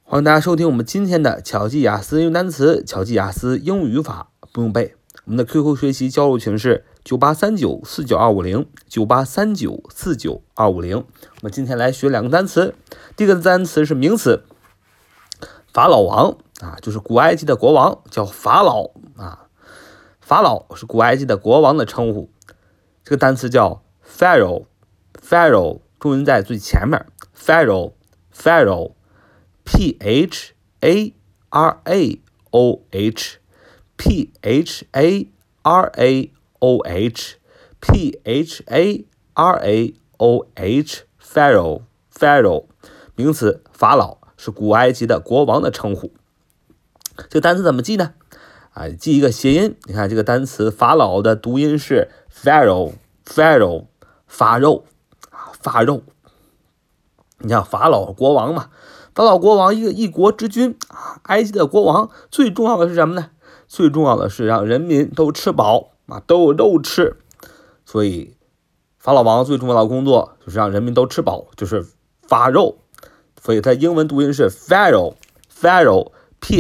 欢迎大家收听我们今天的巧记雅思英语单词、巧记雅思英语语法不用背。我们的 QQ 学习交流群是9839492509，9839492550。我们今天来学两个单词。第一个单词是名词，法老王就是古埃及的国王，叫法老法老是古埃及的国王的称呼。这个单词叫 Pharaoh， 重音在最前面 Pharaoh Pharaoh Pharaoh 名词，法老是古埃及的国王的称呼。这个单词怎么记呢？记一个谐音。你看这个单词法老的读音是 Pharaoh 发肉。你看法老国王嘛，法老国王一国之君埃及的国王最重要的是什么呢？最重要的是让人民都吃饱都有肉吃。所以法老王最重要的工作就是让人民都吃饱，就是发肉。所以它英文读音是 Pharaoh Pharaoh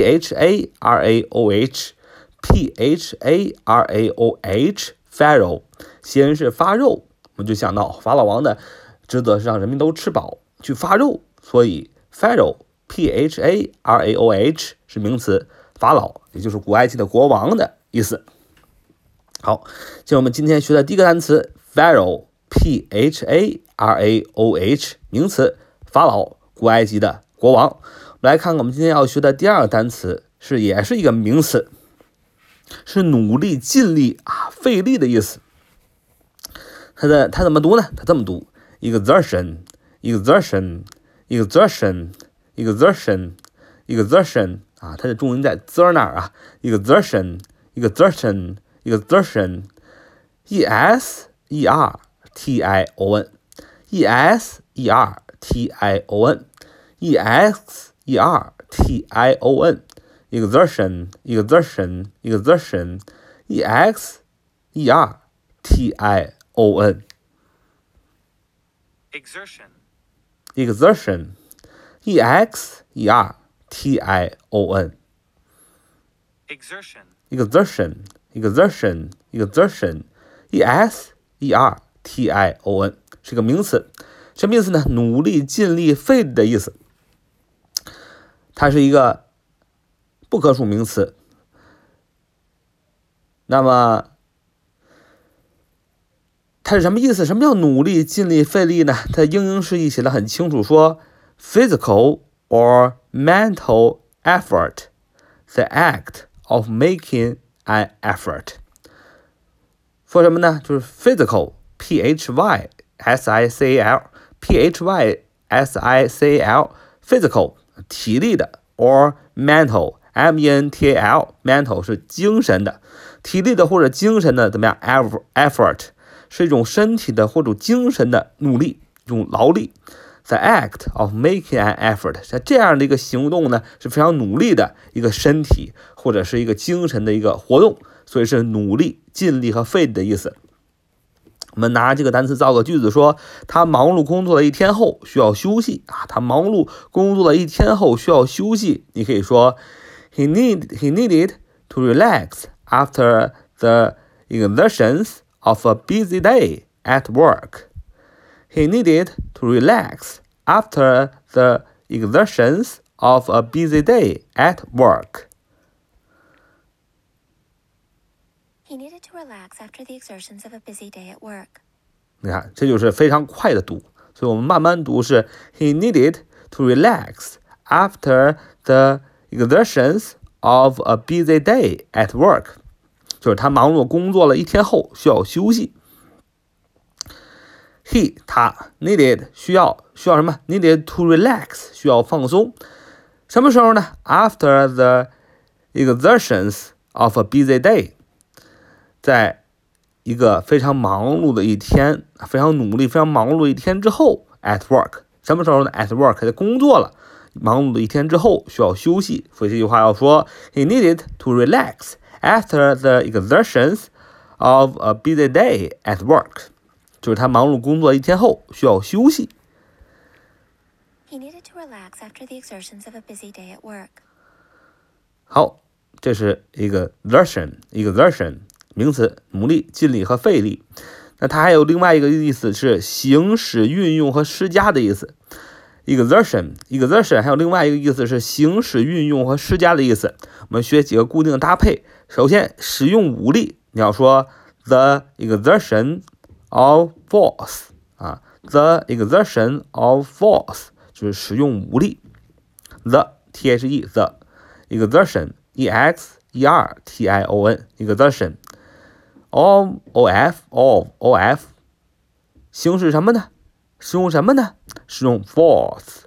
Pharaoh 谐音是发肉。我们就想到法老王的职责是让人民都吃饱去发肉，所以 Pharaoh Pharaoh 是名词，法老也就是古埃及的国王的意思。好，进入我们今天学的第一个单词 Pharaoh Pharaoh 名词，法老古埃及的国王。我们来看看我们今天要学的第二个单词，也是一个名词，是努力、尽力费力的意思。它怎么读呢？它这么读 exertion 它的重音在 z 那儿exertion exertion exertion是个名词。什么意思呢？努力、尽力、费力的意思。它是一个不可数名词。那么它是什么意思？什么叫努力、尽力、费力呢？它英英释义写得很清楚，说 physical or mental effort, the act of making an effort。 说什么呢？就是 physical physical 体力的 or mental mental 是精神的，体力的或者精神的怎么样 effort 是一种身体的或者精神的努力，一种劳力。The act of making an effort， 这样的一个行动呢，是非常努力的一个身体或者是一个精神的一个活动，所以是努力、尽力和费力的意思。我们拿这个单词造个句子，说他忙碌工作了一天后需要休息他忙碌工作了一天后需要休息。你可以说 he needed to relax after the exertions of a busy day at work. He needed to relax after the exertions of a busy day at work. He needed to relax after the exertions of a busy day at work. 你看，这就是非常快的读，所以我们慢慢读是 He needed to relax after the exertions of a busy day at work. 就是他忙碌工作了一天后需要休息。他 needed 需要什么？ needed to relax 需要放松。什么时候呢？ After the exertions of a busy day， 在一个非常忙碌的一天，非常努力、非常忙碌的一天之后 at work。 什么时候呢？ at work 在工作了，忙碌的一天之后需要休息。所以这句话要说 He needed to relax after the exertions of a busy day at work， 就是他忙碌工作一天后需要休息。 He needed to relax after the exertions of a busy day at work. 好，这是exertion，名词，努力、尽力和费力。那它还有另外一个意思是行使、运用和施加的意思。exertion 还有另外一个意思是行使、运用和施加的意思。我们学几个固定的搭配。首先，使用武力，你要说 the exertion of force 啊 ，the exertion of force 就是使用武力。the the exertion exertion exertion of 行使什么呢？使用什么呢？使用 force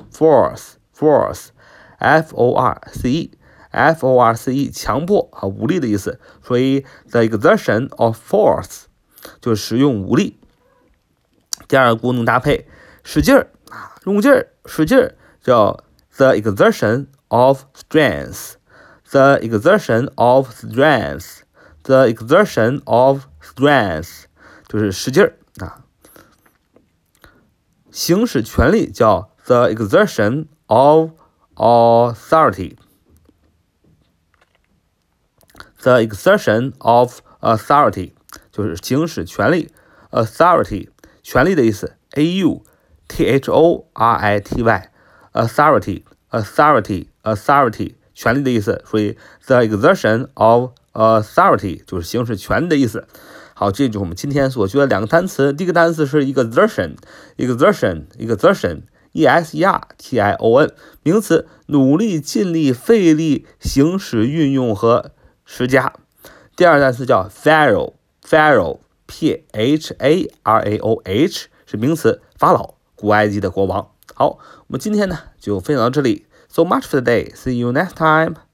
force 强迫和武力的意思，所以 the exertion of force 就是使用武力。第二个固定搭配，使劲儿啊，用劲儿，使劲儿，叫 the exertion of strength the exertion of strength 就是使劲儿啊。行使权力叫 the exertion of authority the exertion of authority 就是行使权力 authority 权力的意思 authority authority 权力的意思，所以 the exertion of authority 就是行使权力的意思。好，这就是我们今天所学的两个单词。第一个单词是exertion exertion名词，努力、尽力、费力、行使、运用和施加。第二个单词叫 pharaoh pharaoh 是名词，法老，古埃及的国王。好，我们今天呢就分享到这里。So much for today. See you next time.